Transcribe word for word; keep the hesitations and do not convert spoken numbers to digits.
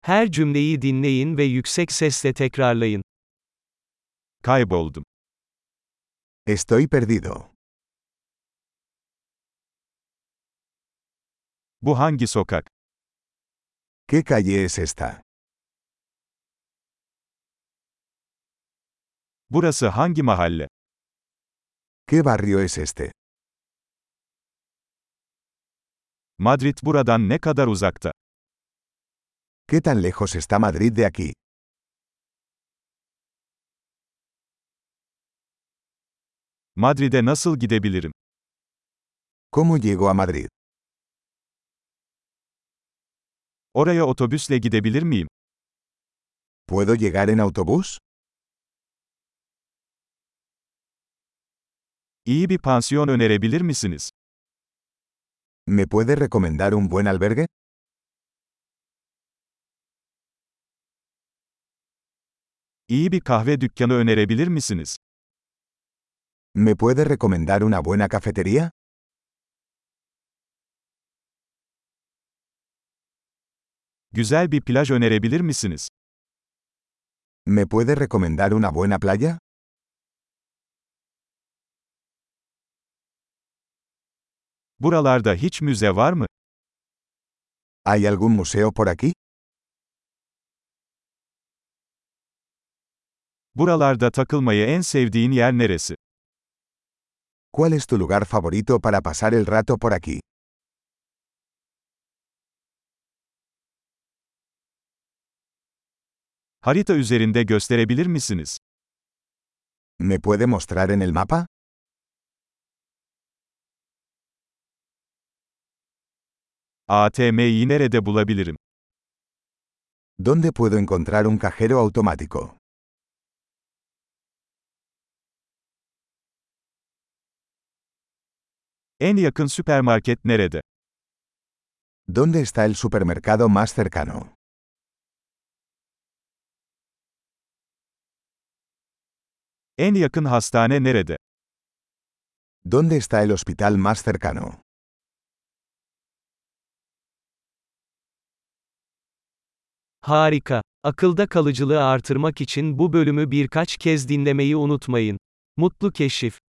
Her cümleyi dinleyin ve yüksek sesle tekrarlayın. Kayboldum. Estoy perdido. Bu hangi sokak? ¿Qué calle es esta? Burası hangi mahalle? ¿Qué barrio es este? Madrid buradan ne kadar uzakta? ¿Qué tan lejos está Madrid de aquí? Madrid'e nasıl gidebilirim? ¿Cómo llego a Madrid? Oraya otobüsle gidebilir miyim? ¿Puedo llegar en autobús? İyi bir pansiyon önerebilir misiniz? ¿Me puede recomendar un buen albergue? İyi bir kahve dükkanı önerebilir misiniz? ¿Me puede recomendar una buena cafetería? Güzel bir plaj önerebilir misiniz? ¿Me puede recomendar una buena playa? Buralarda hiç müze var mı? ¿Hay algún museo por aquí? Buralarda takılmayı en sevdiğin yer neresi? ¿Cuál es tu lugar favorito para pasar el rato por aquí? Harita üzerinde gösterebilir misiniz? ¿Me puede mostrar en el mapa? A T M'yi nerede bulabilirim? ¿Dónde puedo encontrar un cajero automático? En yakın süpermarket nerede? ¿Dónde está el supermercado más cercano? En yakın hastane nerede? ¿Dónde está el hospital más cercano? Harika. Akılda kalıcılığı artırmak için bu bölümü birkaç kez dinlemeyi unutmayın. Mutlu keşif.